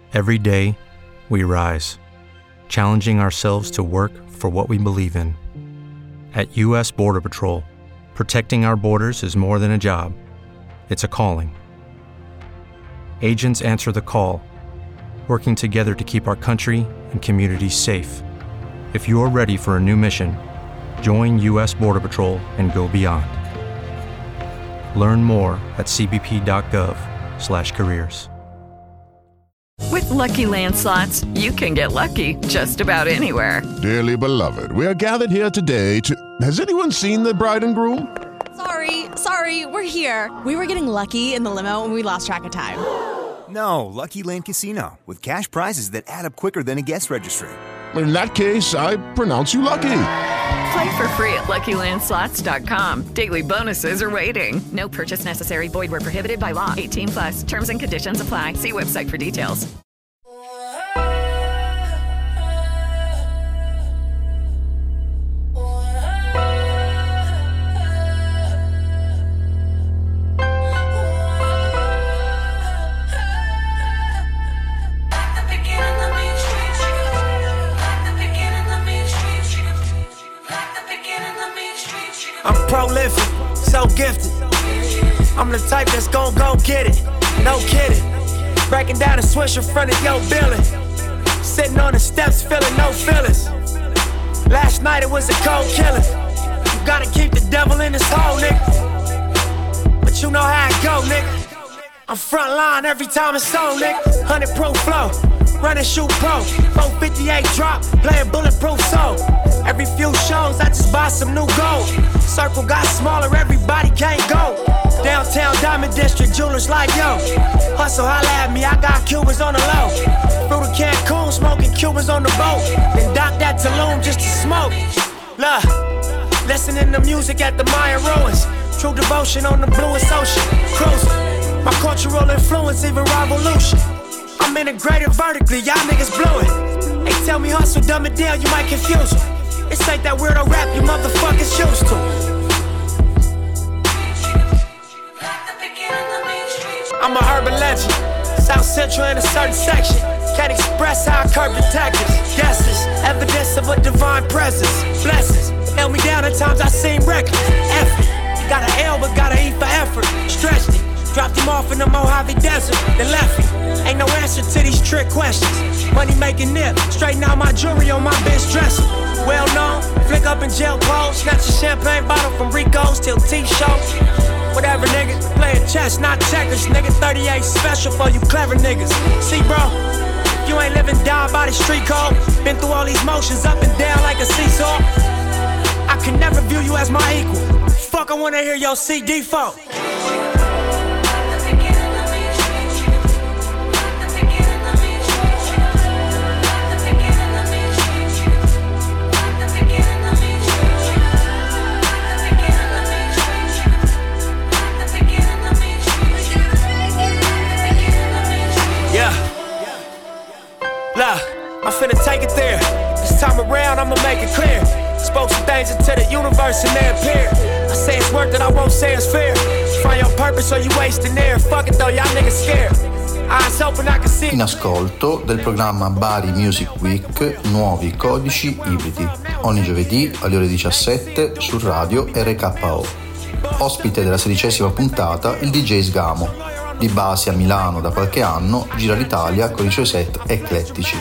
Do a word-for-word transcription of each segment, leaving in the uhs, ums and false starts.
Every day, we rise, challenging ourselves to work for what we believe in. At U S Border Patrol, protecting our borders is more than a job. It's a calling. Agents answer the call, working together to keep our country and communities safe. If you are ready for a new mission, join U S Border Patrol and go beyond. Learn more at c b p dot gov slash careers. With Lucky Land Slots, you can get lucky just about anywhere. Dearly beloved, we are gathered here today to... Has anyone seen the bride and groom? Sorry, sorry, we're here. We were getting lucky in the limo and we lost track of time. No, Lucky Land Casino, with cash prizes that add up quicker than a guest registry. In that case, I pronounce you lucky. Play for free at lucky land slots dot com. Daily bonuses are waiting. No purchase necessary. Void where prohibited by law. eighteen plus. Terms and conditions apply. See website for details. I'm prolific, so gifted. I'm the type that's gon' go get it, no kidding. Breaking down a swish in front of your building. Sitting on the steps, feeling no feelings. Last night it was a cold killing. You gotta keep the devil in his hole, nigga. But you know how it go, nigga. I'm front line every time it's on, nigga. one hundred proof flow, running shoot pro. four fifty-eight drop, playing bulletproof soul. Every few shows I just buy some new gold. Circle got smaller, everybody can't go. Downtown Diamond District, jewelers like yo. Hustle, holla at me, I got Cubans on the low. Through the Cancun, smoking Cubans on the boat. Then dock that Tulum just to smoke. Look, listening to music at the Mayan ruins. True devotion on the bluest ocean. Cruising, my cultural influence, even revolution. I'm integrated vertically, y'all niggas blew it. They tell me hustle, dumb it down, you might confuse them. This ain't that weirdo rap you motherfuckers used to. I'm a urban legend, South Central in a certain section. Can't express how I curb detectives. Guesses, evidence of a divine presence. Blessings, held me down at times I seem reckless. Effort, you got an L but got an E for effort. Stretched it, dropped him off in the Mojave Desert. Then left me, ain't no answer to these trick questions. Money making nip, straighten out my jewelry on my bitch dresser. Well known, flick up in jail clothes. Snatch a champagne bottle from Rico's till T-show. Whatever, nigga, playing chess, not checkers. Nigga, thirty-eight special for you clever niggas. See, bro, if you ain't living down by the street code, been through all these motions up and down like a seesaw, I can never view you as my equal. Fuck, I wanna hear your C D folk. Look, I'm finna take it there. This time around, I'ma make it clear. Spoke some things into the universe and they appear. I say it's worth it, I won't say it's fair. Find your purpose or you wasting air. Fuck it though, y'all niggas scared. Eyes open, I can see. In ascolto del programma Bari Music Week Nuovi Codici Ibridi, ogni giovedì alle ore diciassette su Radio R K O. Ospite della sedicesima puntata il D J Sgamo. Di base a Milano da qualche anno, gira l'Italia con i suoi set eclettici.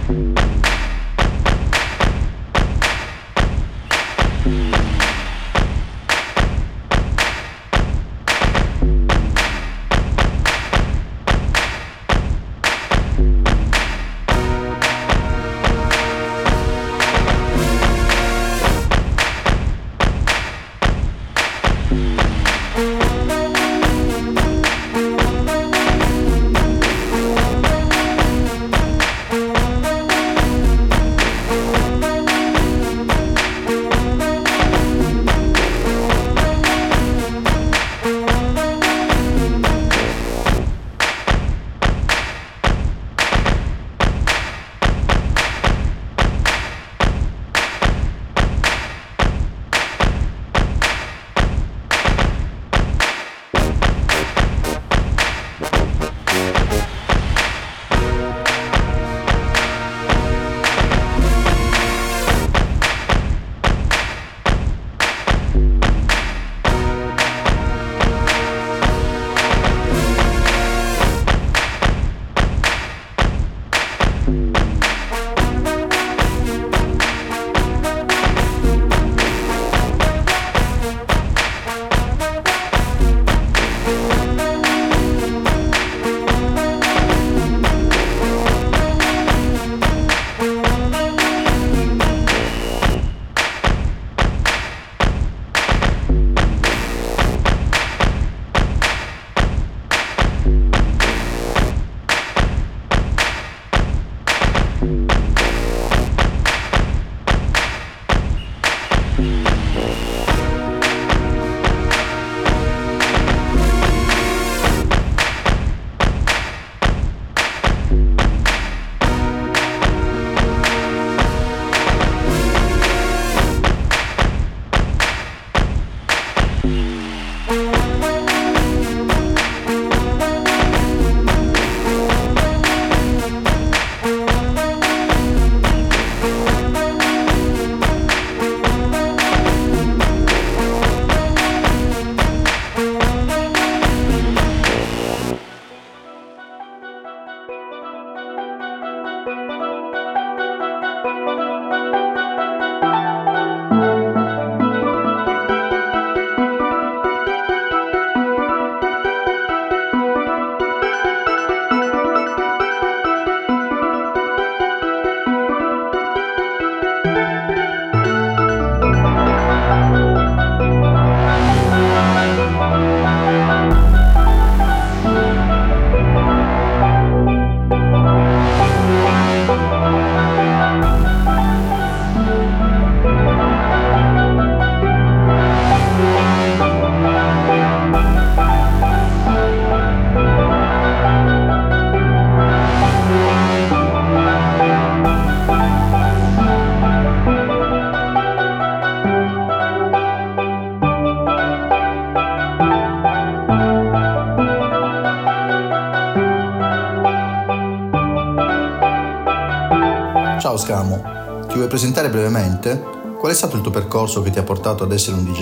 Ciao Scamo, ti vuoi presentare brevemente? Qual è stato il tuo percorso che ti ha portato ad essere un D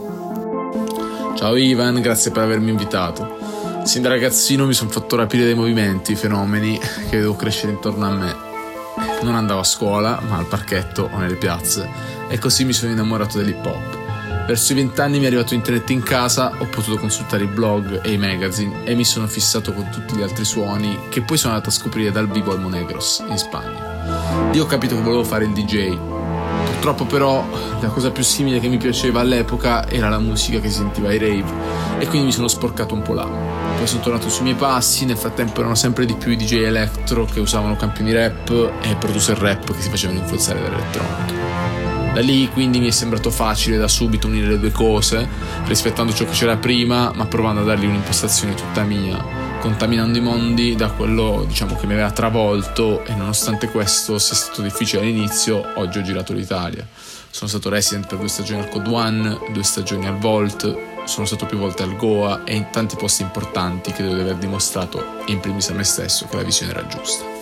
J? Ciao Ivan, grazie per avermi invitato. Sin da ragazzino mi sono fatto rapire dai movimenti, fenomeni che vedevo crescere intorno a me. Non andavo a scuola, ma al parchetto o nelle piazze, e così mi sono innamorato dell'hip hop. Verso i vent'anni mi è arrivato internet in casa, ho potuto consultare i blog e i magazine e mi sono fissato con tutti gli altri suoni che poi sono andato a scoprire dal vivo al Monegros, in Spagna. Lì ho capito che volevo fare il D J. Purtroppo però la cosa più simile che mi piaceva all'epoca era la musica che si sentiva ai rave, e quindi mi sono sporcato un po' là. Poi sono tornato sui miei passi, nel frattempo erano sempre di più i D J electro che usavano campioni rap e producer rap che si facevano influenzare dall'elettronica. Da lì quindi mi è sembrato facile da subito unire le due cose, rispettando ciò che c'era prima, ma provando a dargli un'impostazione tutta mia, contaminando i mondi da quello, diciamo, che mi aveva travolto, e nonostante questo sia stato difficile all'inizio, oggi ho girato l'Italia. Sono stato resident per due stagioni al Code One, due stagioni al Vault, sono stato più volte al Goa e in tanti posti importanti che devo aver dimostrato, in primis a me stesso, che la visione era giusta.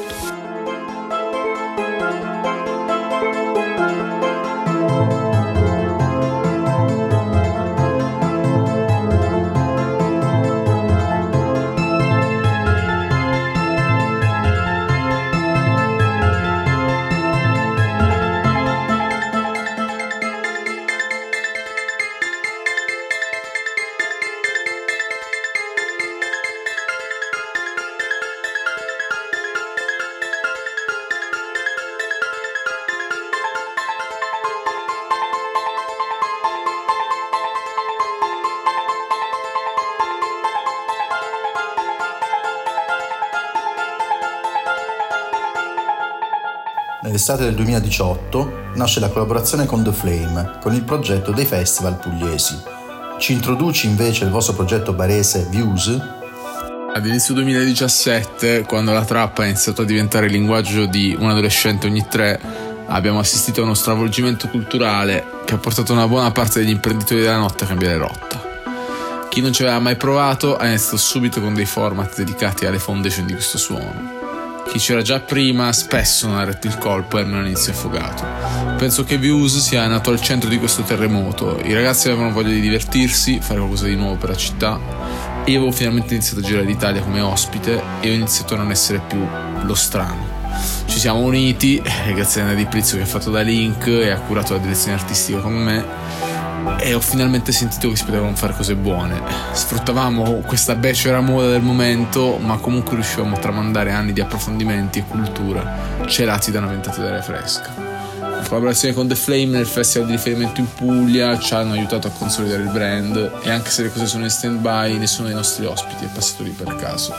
Nell'estate del duemiladiciotto nasce la collaborazione con The Flame, con il progetto dei festival pugliesi. Ci introduci invece il vostro progetto barese Views? Ad inizio duemiladiciassette, quando la trap ha iniziato a diventare il linguaggio di un adolescente ogni tre, abbiamo assistito a uno stravolgimento culturale che ha portato una buona parte degli imprenditori della notte a cambiare rotta. Chi non ci aveva mai provato ha iniziato subito con dei format dedicati alle foundation di questo suono. Chi c'era già prima spesso non ha retto il colpo e almeno inizio affogato. Penso che Views sia nato al centro di questo terremoto. I ragazzi avevano voglia di divertirsi, fare qualcosa di nuovo per la città. E io avevo finalmente iniziato a girare l'Italia come ospite e ho iniziato a non essere più lo strano. Ci siamo uniti, grazie a Nadi Prizzo che ha fatto da Link e ha curato la direzione artistica con me, e ho finalmente sentito che si potevano fare cose buone. Sfruttavamo questa becera moda del momento, ma comunque riuscivamo a tramandare anni di approfondimenti e cultura celati da una ventata d'aria fresca. La collaborazione con The Flame nel festival di riferimento in Puglia ci hanno aiutato a consolidare il brand, e anche se le cose sono in stand by, nessuno dei nostri ospiti è passato lì per caso.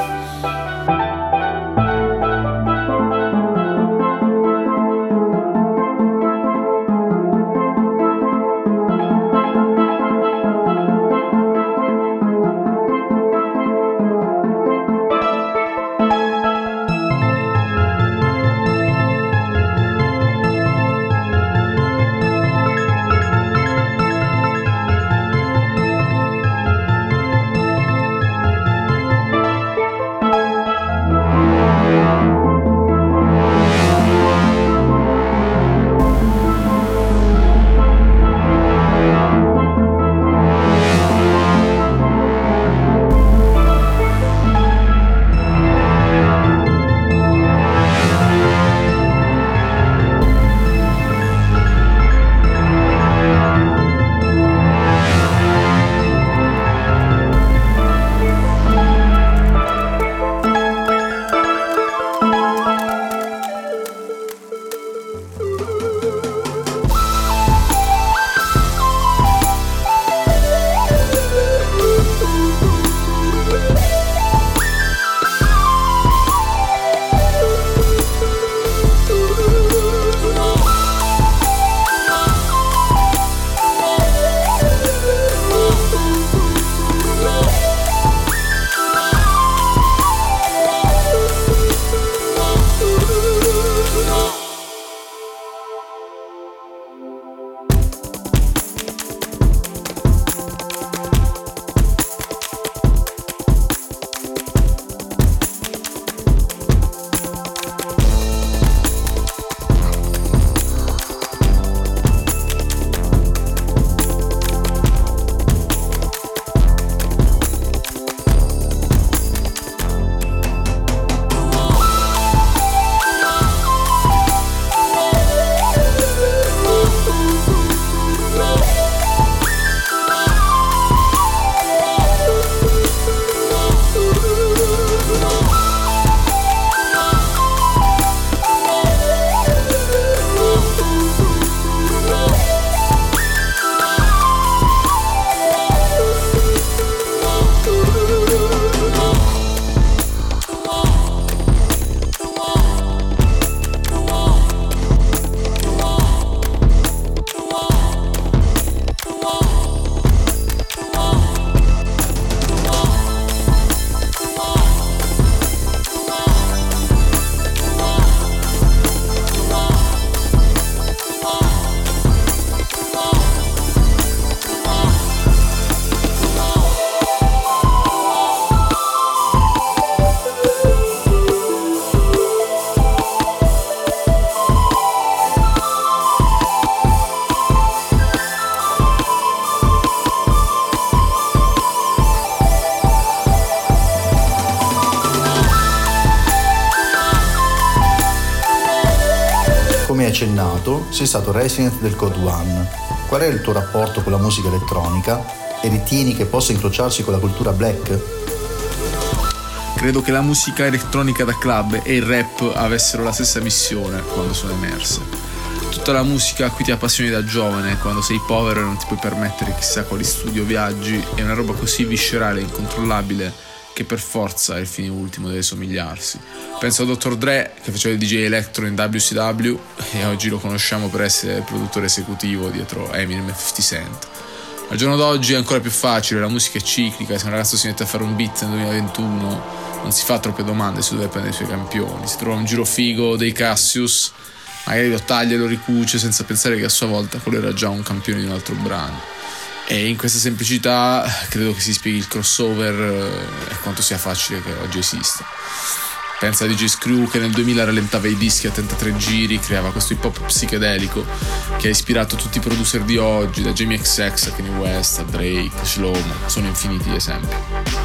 Come accennato, sei stato resident del Code One. Qual è il tuo rapporto con la musica elettronica e ritieni che possa incrociarsi con la cultura black? Credo che la musica elettronica da club e il rap avessero la stessa missione quando sono emerse. Tutta la musica a cui ti appassioni da giovane, quando sei povero e non ti puoi permettere chissà quali studi o viaggi, è una roba così viscerale e incontrollabile che per forza il fine ultimo deve somigliarsi. Penso a doctor Dre, che faceva il D J electro in W C W e oggi lo conosciamo per essere il produttore esecutivo dietro Eminem e fifty Cent. Al giorno d'oggi è ancora più facile, la musica è ciclica, se un ragazzo si mette a fare un beat nel duemilaventuno non si fa troppe domande su dove prendere i suoi campioni, si trova un giro figo dei Cassius, magari lo taglia e lo ricuce senza pensare che a sua volta quello era già un campione di un altro brano. E in questa semplicità credo che si spieghi il crossover e quanto sia facile che oggi esista. Pensa a D J Screw che nel duemila rallentava i dischi a trentatré giri, creava questo hip hop psichedelico che ha ispirato tutti i producer di oggi, da Jamie X X a Kanye West a Drake, Shlomo, sono infiniti gli esempi.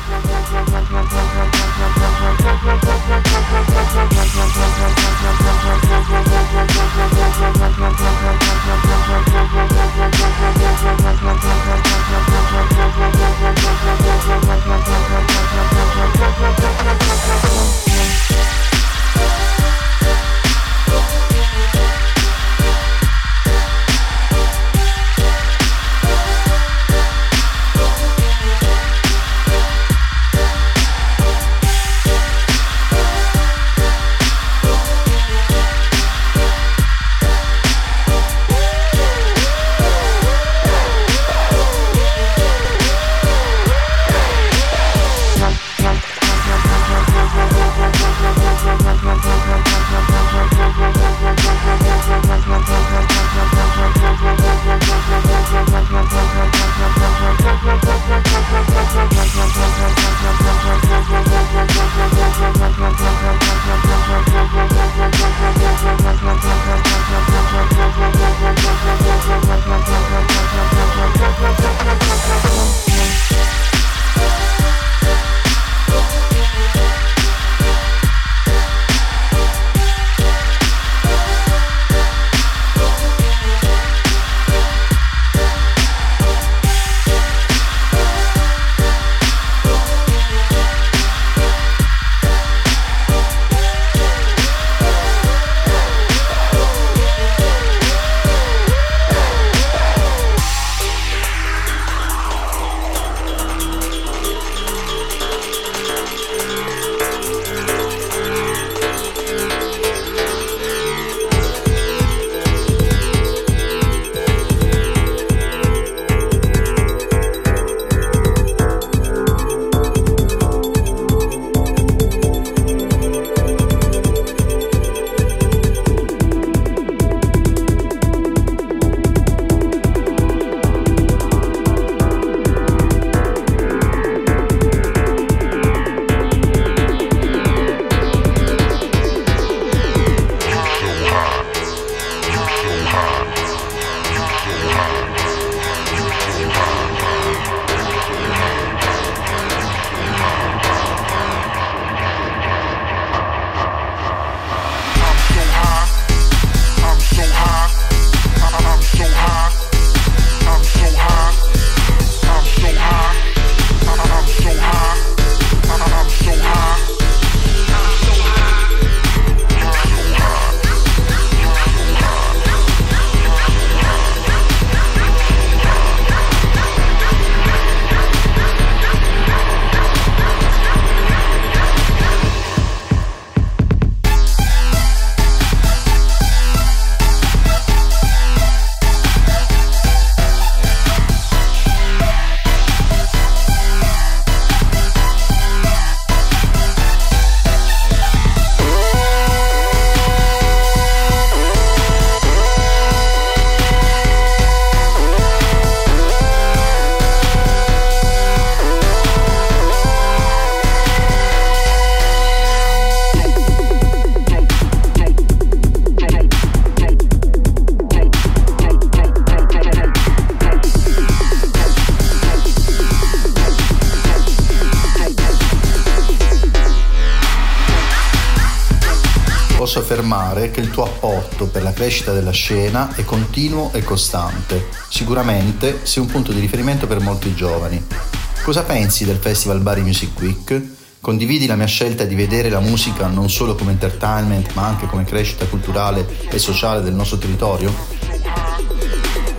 posso affermare che il tuo apporto per la crescita della scena è continuo e costante. Sicuramente sei un punto di riferimento per molti giovani. Cosa pensi del Festival Bari Music Week? Condividi la mia scelta di vedere la musica non solo come entertainment, ma anche come crescita culturale e sociale del nostro territorio?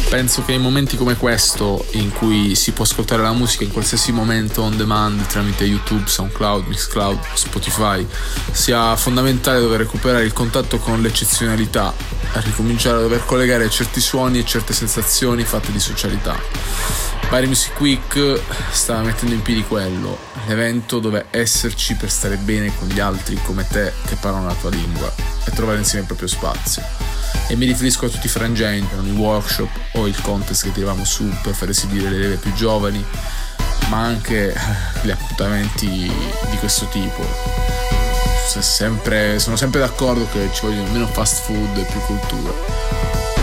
Penso che in momenti come questo, in cui si può ascoltare la musica in qualsiasi momento on demand tramite YouTube, SoundCloud, Mixcloud, Spotify, sia fondamentale dover recuperare il contatto con l'eccezionalità, a ricominciare a dover collegare certi suoni e certe sensazioni fatte di socialità. Bari Music Week sta mettendo in piedi quello, l'evento dove esserci per stare bene con gli altri come te che parlano la tua lingua e trovare insieme il proprio spazio. E mi riferisco a tutti i frangenti, i workshop o il contest che tiravamo su per far esibire le leve più giovani, ma anche gli appuntamenti di questo tipo. Sempre, sono sempre d'accordo che ci vogliono meno fast food e più cultura.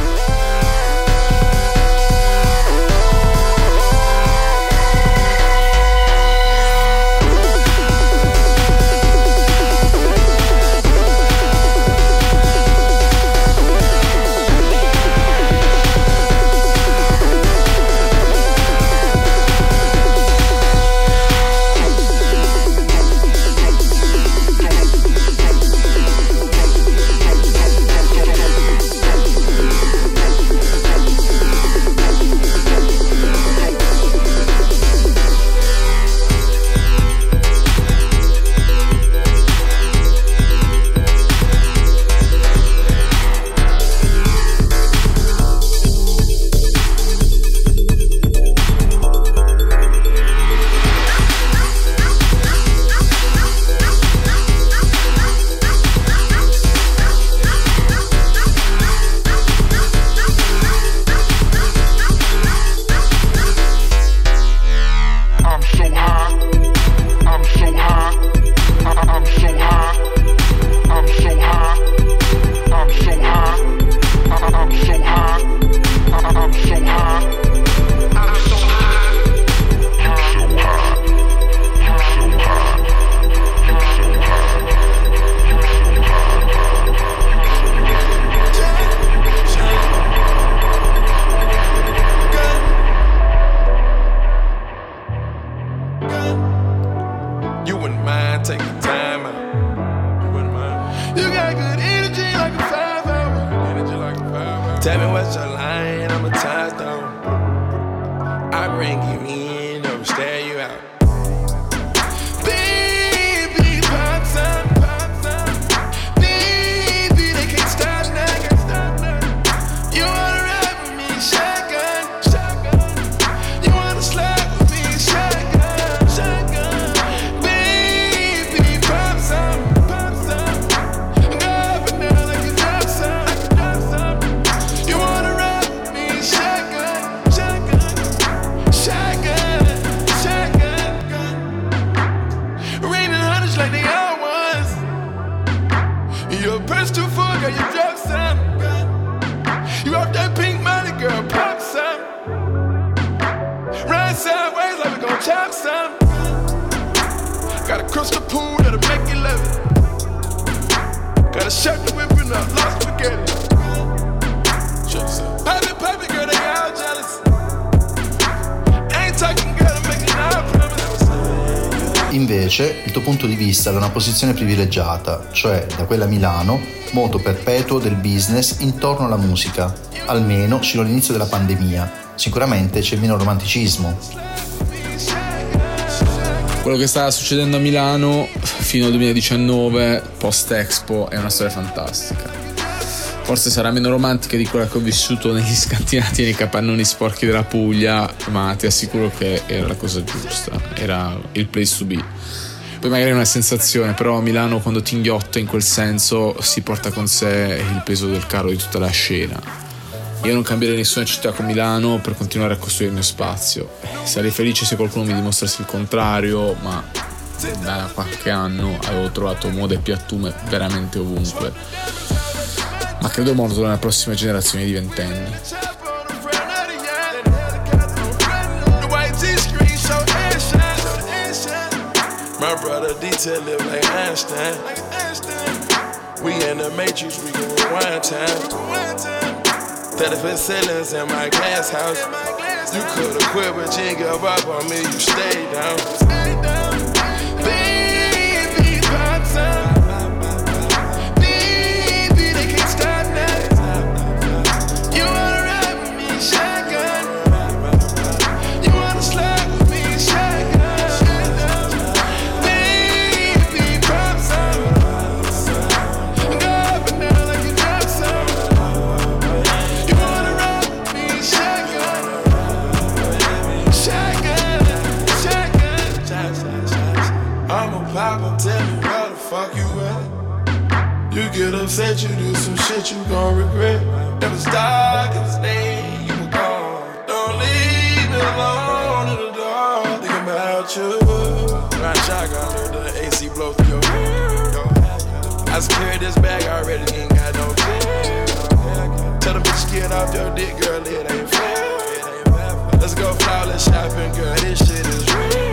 Tell me what's your line, I'm a touchdown. I bring you in, or stare you out. Baby, pop some, pop some. Baby, they can't stop now. You wanna ride with me, shotgun, shotgun. You wanna slide with me, shotgun, shotgun. Baby, pop some, pop some. Go up and down like you drop some, like you drop some. You wanna ride with me, shotgun, shotgun, shotgun, shotgun. Raining hundreds like they all ones. Your purse too full, girl, you drop some. You off that pink money, girl, pop some. Ride sideways like we gon' chop some. Got a crystal pool that'll make you love it. Got a shirt that whipping up, lost spaghetti. Pop it, pop it, girl, they all jealous. Ain't talking, girl, I'm making all promises. Invece, il tuo punto di vista da una posizione privilegiata, cioè da quella a Milano, moto perpetuo del business intorno alla musica, almeno sino all'inizio della pandemia. Sicuramente c'è meno romanticismo. Quello che sta succedendo a Milano fino al duemiladiciannove, post-Expo, è una storia fantastica. Forse sarà meno romantica di quella che ho vissuto negli scantinati e nei capannoni sporchi della Puglia, ma ti assicuro che era la cosa giusta, era il place to be. Poi magari è una sensazione, però a Milano, quando ti inghiotta in quel senso, si porta con sé il peso del carro di tutta la scena. Io non cambierei nessuna città con Milano per continuare a costruire il mio spazio. Sarei felice se qualcuno mi dimostrasse il contrario, ma da qualche anno avevo trovato moda e piattume veramente ovunque. Ma credo molto nella prossima generazione di ventenni. My brother detail live like Einstein. We in the matrix, we can rewind time. thirty-foot ceilings in my glass house. You could've quit, but you ain't give up on me, you stayed down. Baby, pop some. Baby, they can't stop now. You wanna ride with me, shake. said you do some shit you gon' regret. Never stop, cause stay, you were gone. Don't leave me alone in the dark, thinking about you. Ride shotgun, let the A C blow through your hair. I secured this bag already, ain't got no fear. Tell them bitch get off your dick, girl, it ain't fair. Let's go flawless shopping, girl, this shit is real.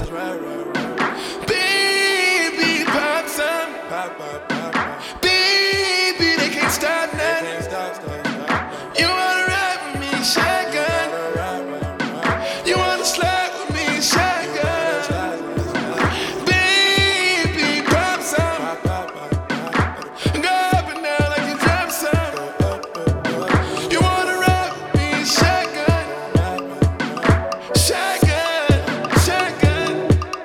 Baby, pop some, pop, pop, pop, pop. Baby, they can't stop nothing. You wanna ride with me, shotgun. You wanna slide with me, shotgun. Baby, pop some. Go up and down like you drop some. You wanna ride with me, shotgun. Shotgun, shotgun.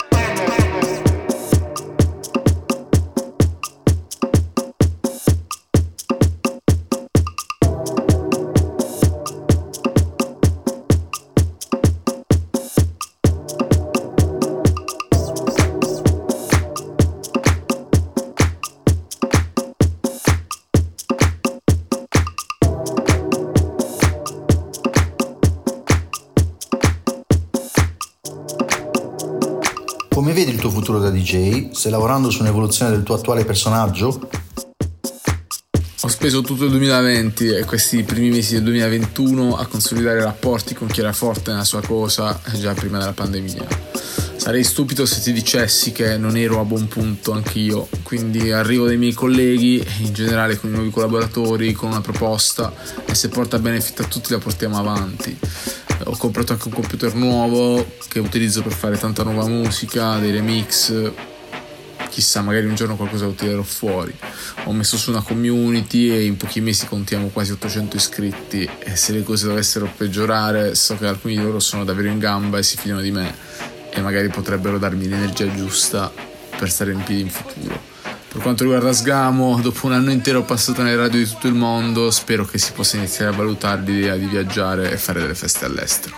Come vedi il tuo futuro da D J? Stai lavorando su un'evoluzione del tuo attuale personaggio? Ho speso tutto il duemilaventi e questi primi mesi del duemilaventuno a consolidare rapporti con chi era forte nella sua cosa già prima della pandemia. Sarei stupido se ti dicessi che non ero a buon punto anch'io, quindi arrivo dai miei colleghi e in generale con i nuovi collaboratori con una proposta e se porta benefit a tutti la portiamo avanti. Ho comprato anche un computer nuovo che utilizzo per fare tanta nuova musica, dei remix, chissà, magari un giorno qualcosa lo tirerò fuori. Ho messo su una community e in pochi mesi contiamo quasi ottocento iscritti e se le cose dovessero peggiorare so che alcuni di loro sono davvero in gamba e si fidano di me e magari potrebbero darmi l'energia giusta per stare in piedi in futuro. Per quanto riguarda Sgamo, dopo un anno intero passato nelle radio di tutto il mondo, spero che si possa iniziare a valutare l'idea di viaggiare e fare delle feste all'estero.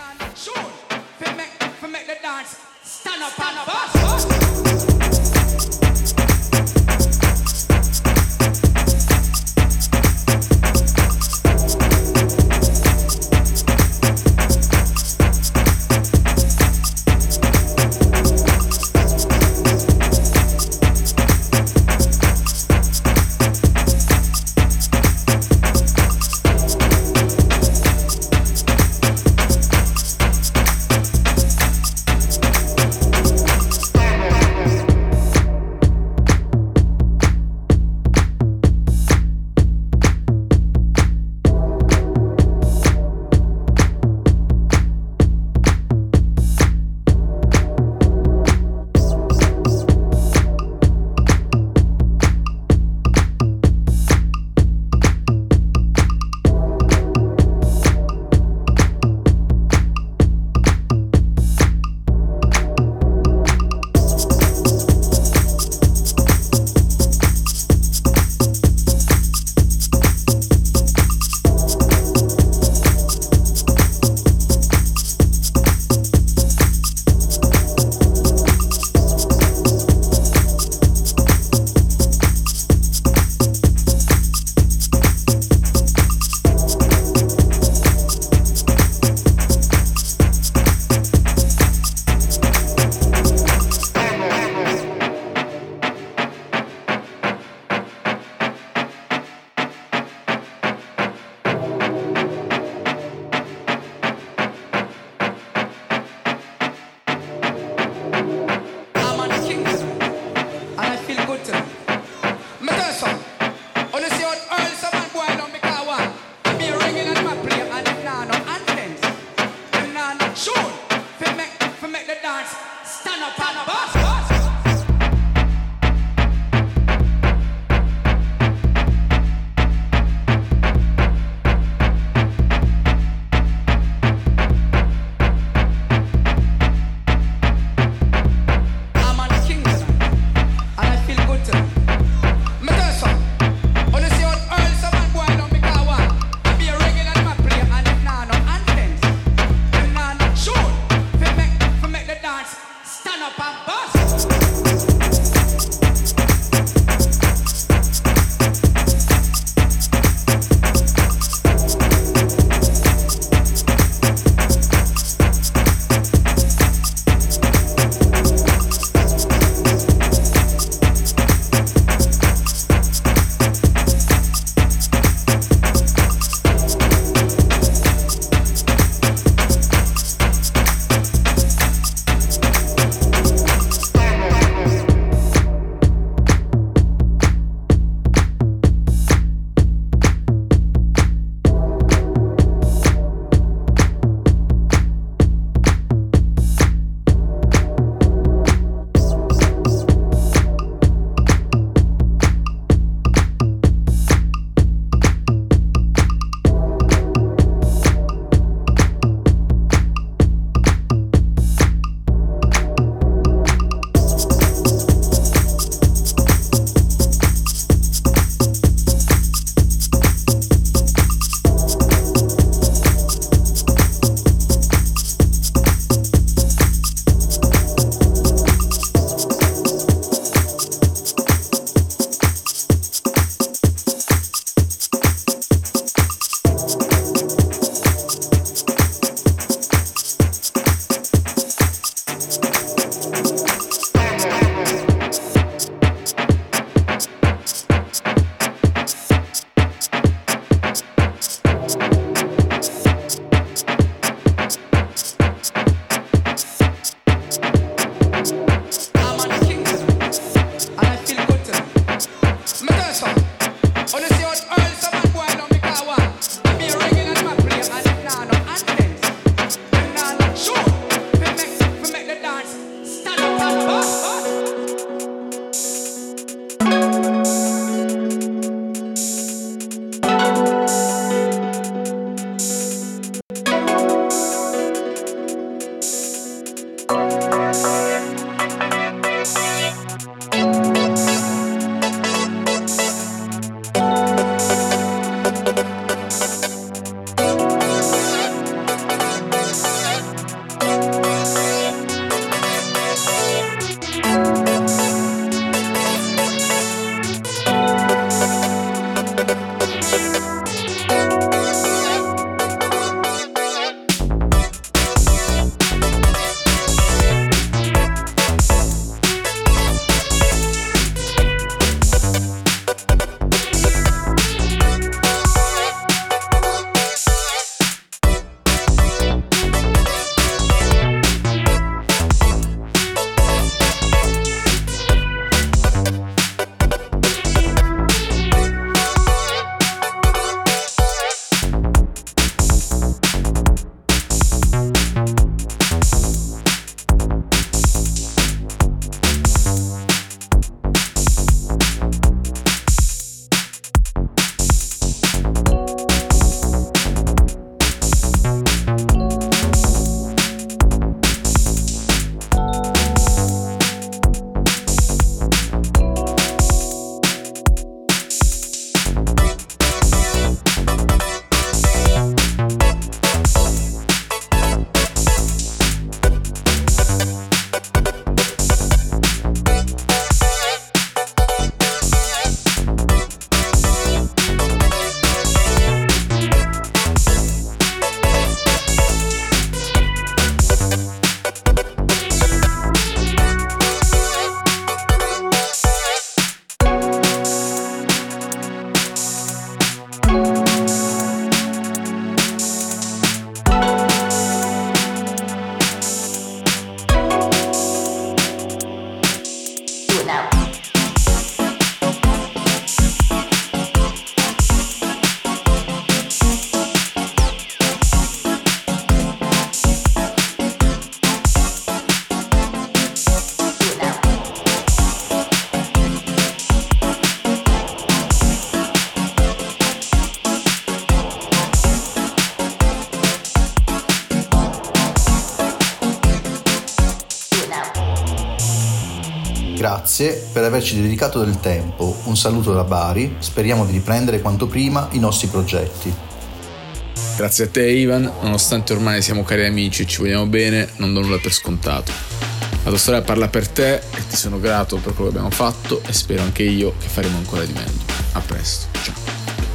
Grazie per averci dedicato del tempo, un saluto da Bari, speriamo di riprendere quanto prima i nostri progetti. Grazie a te Ivan, nonostante ormai siamo cari amici e ci vogliamo bene, non do nulla per scontato. La tua storia parla per te e ti sono grato per quello che abbiamo fatto e spero anche io che faremo ancora di meglio. A presto, ciao.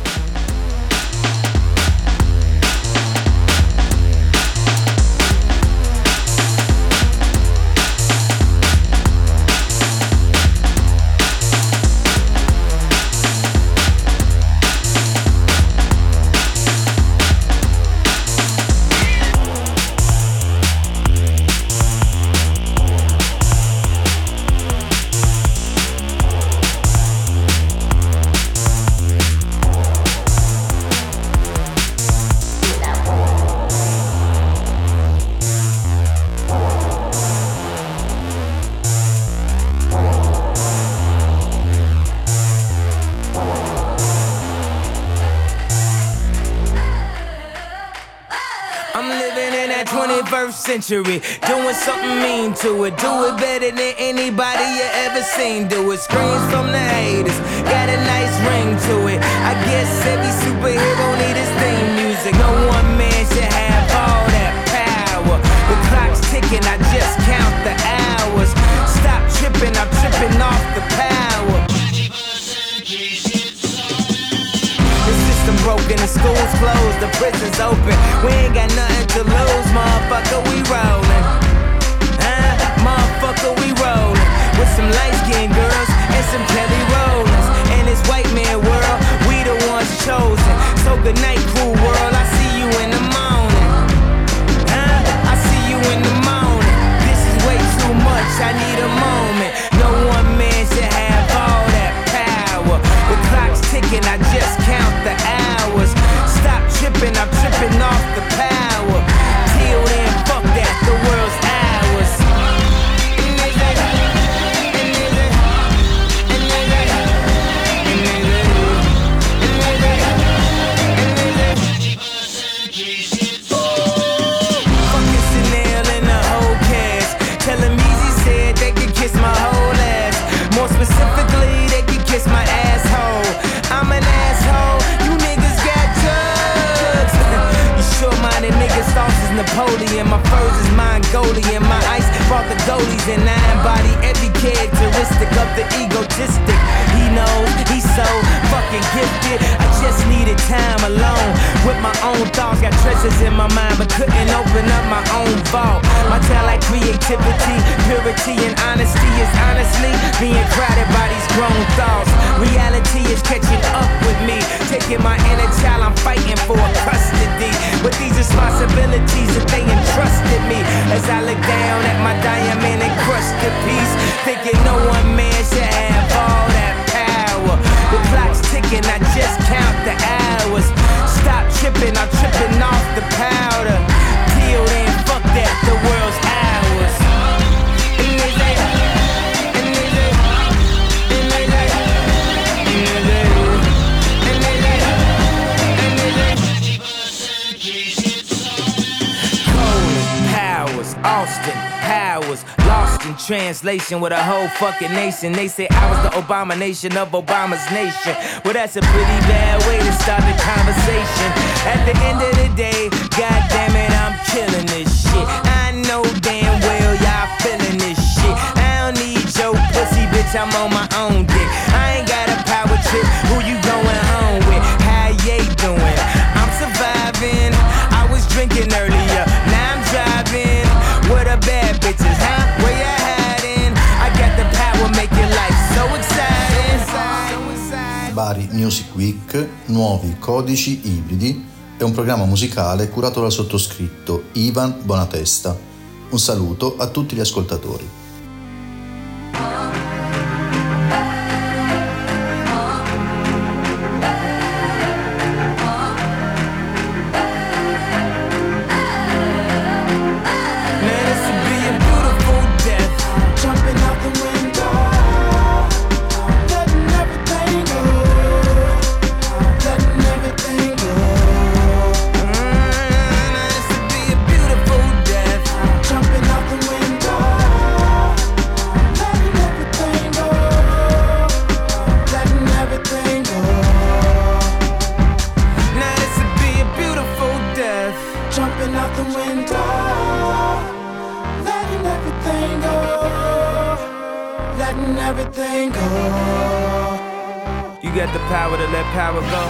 Century, doing something mean to it. Do it better than anybody you ever seen. Do it. Screams from the haters, got a nice ring to it. I guess every superhero need his theme music. No one man should have all that power. The clock's ticking, I just count the hours. Stop tripping, I'm tripping off the power. The system broken, the school's closed, the prison's open. We ain't got nothing to lose, motherfucker, we rollin'. Huh? Motherfucker, we rollin'. With some light-skinned girls and some Kelly Rollins. In this white man world, we the ones chosen. So good night, cool world, I see you in the morning. Huh? I see you in the morning. This is way too much, I need a moment. No one man should have all that power. The clock's ticking, I just count the hours. Stop tripping, I'm tripping off the power. Till then, fuck that, the world's ours. Fucking Chanel and the whole cast. Tell him Easy said they could kiss my whole ass. More specifically, they could kiss my asshole. I'm an asshole, you niggas got drugs. You short-minded niggas, sauce is Napoleon. My furs is Mongolian. My ice brought the goalies and I embody every characteristic of the egotistic. He knows he's so fucking gifted. I just needed time alone with my own thoughts. Got treasures in my mind but couldn't open up my own vault. My talent, creativity, purity and honesty is honestly being crowded by these grown thoughts. Reality is catching up with me, taking my inner child, I'm fighting for custody. With these responsibilities that they entrusted me, as I look down at my diamond encrusted piece, thinking no one man should have all that power. The clock's ticking, I just count the hours. Stop tripping, I'm tripping off the powder. Till then, fuck that, the world's ours. Austin Powers, lost in translation with a whole fucking nation. They say I was the abomination of Obama's nation. Well, that's a pretty bad way to start the conversation. At the end of the day, god damn it, I'm killing this shit. I know damn well y'all feeling this shit. I don't need your pussy, bitch, I'm on my own dick. I ain't got a power trip, who you going home with? How you doing? I'm surviving, I was drinking earlier, now I'm driving. What a bad bitches, huh? Where you hiding? I got the power, make your life so exciting. Bari Music Week, nuovi codici ibridi, è un programma musicale curato dal sottoscritto Ivan Bonatesta. Un saluto a tutti gli ascoltatori. Jumping out the window. letting everything go. You got the power to let power go.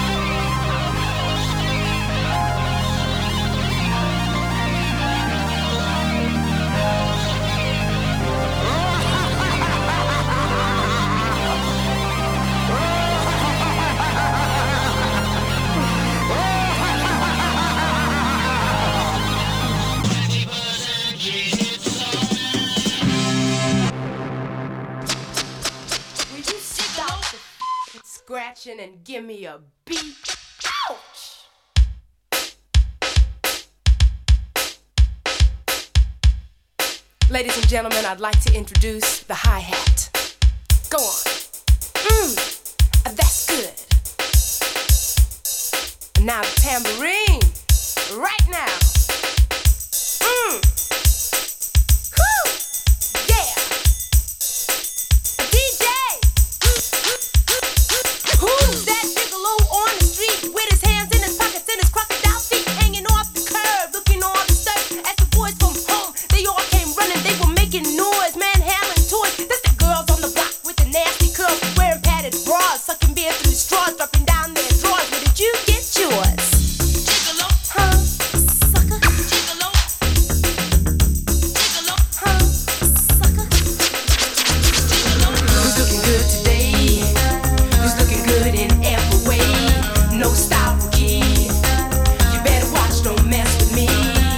Scratching and give me a beat. Ouch! Ladies and gentlemen, I'd like to introduce the hi-hat. Go on. Mmm, that's good. And now the tambourine. Right now. Mmm. Whew! Yeah! D J! Who's that gigolo on the street with his hands in his pockets and his crocodile feet hanging off the curb, looking all disturbed as the boys from home, they all came running, they were making noise, manhandling toys. That's the girls on the block with the nasty curls, wearing padded bras, sucking beer through straws, dropping down their drawers. Where did you get yours? Gigolo, huh? Sucker. Gigolo. Gigolo, huh? Sucker. Gigolo. Who's looking good today? Who's looking good in every way? No style rookie. You better watch, don't mess with me.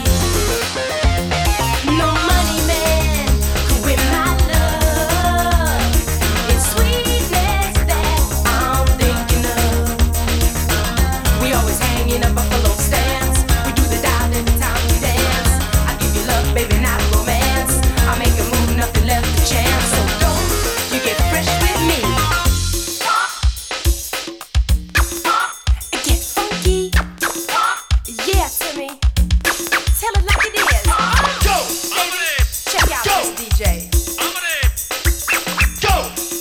No money man could win my love. It's sweetness that I'm thinking of. We always hanging up buffalo stands. We do the dial every time we dance. I give you love, baby, not romance. I make a move, nothing left to chance. So don't you get fresh with me. Get funky. Yeah, Timmy. Tell it like it is. Go! Baby, check out this D J. Go!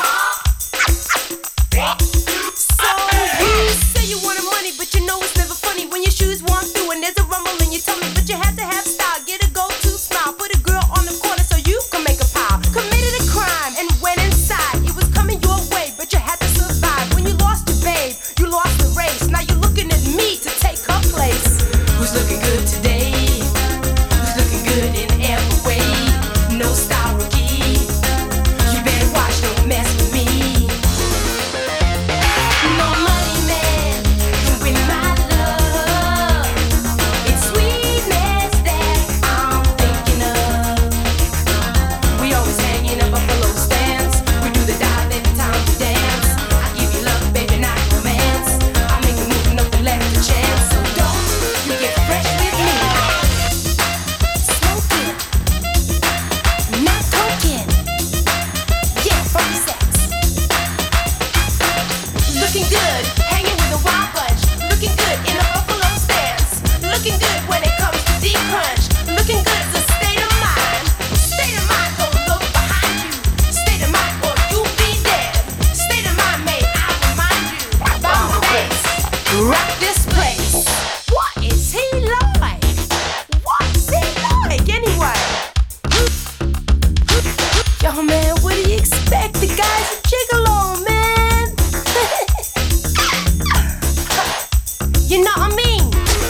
So you say you wanted money, but you know it's never funny when your shoes walk through and there's a rumble in your tummy. But you have to have style, get a go-to smile, put a girl on the corner so you can make a pile. Committed a crime and went inside. It was coming your way, but you had to survive. When you lost your babe, you lost the race. Now you're looking at me to take her place. Who's looking good today? Who's looking good in every way? No style rookie. You better watch, don't mess with me. No money man can win my love. It's sweetness that I'm thinking of. We always hanging up buffalo stands. We do the dive every time we dance. I give you love, baby, not romance. I make a move, nothing left to chance. So don't you get fresh with me. Smoking, not talking. Yeah, funky sex. Looking good, hanging with a wild bunch. Looking good in a buffalo stance. Looking good when it comes to deep crunch. Looking good is a state of mind. State of mind, don't look behind you. State of mind, or you'll be dead. State of mind, may I remind you. Bounce the bass, rock this place. What is he like? What's he like anyway? Yo, man, what do you expect? The guy's a gigolo, man. You know what I mean?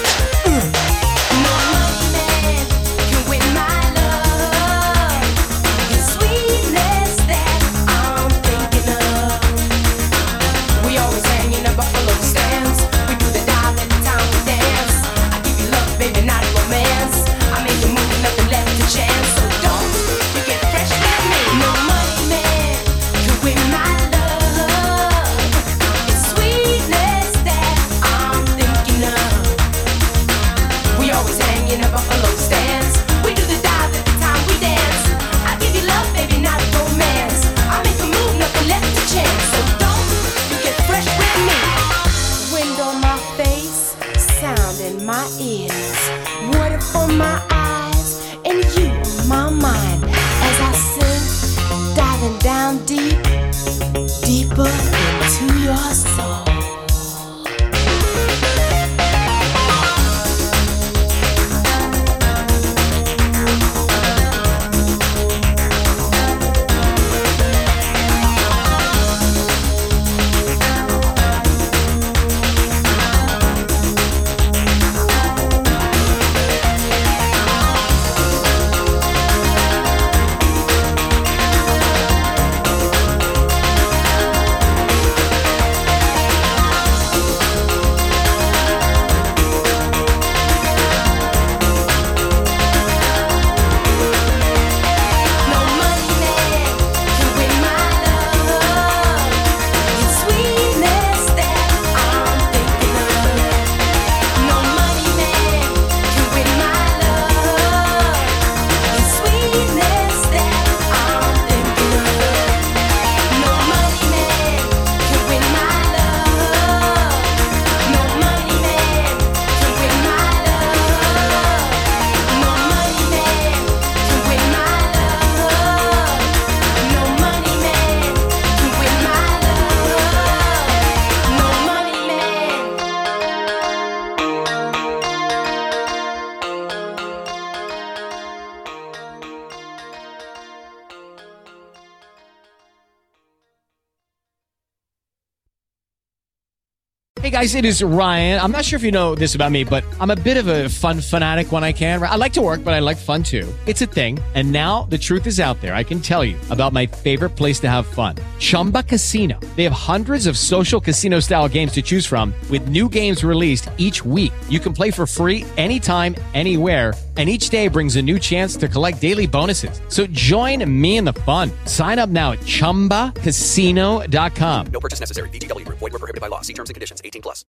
No money man can win my love. It's sweetness that I'm thinking of. We always hanging up buffalo stands. We do the dive every time we dance. I give you love, baby, not romance. I make a move, nothing left to chance. So don't you get fresh with me. No money man can win my love. It's sweetness that I'm thinking of. We always hanging up buffalo stands. We do the dive every time we dance. I give you love, baby, not romance. I make a move, nothing left to chance. So don't you get fresh with me. Wind on my face, sound in my ears, water for my eyes, and you on my mind. As I sing, diving down deep, deeper into your soul. guys, it is Ryan. I'm not sure if you know this about me, but I'm a bit of a fun fanatic when I can. I like to work, but I like fun too. It's a thing. And now the truth is out there. I can tell you about my favorite place to have fun. Chumba Casino. They have hundreds of social casino style games to choose from with new games released each week. You can play for free anytime, anywhere. And each day brings a new chance to collect daily bonuses. So join me in the fun. Sign up now at chumba casino dot com. No purchase necessary. V G W Group. Void where prohibited by law. See terms and conditions. eighteen plus.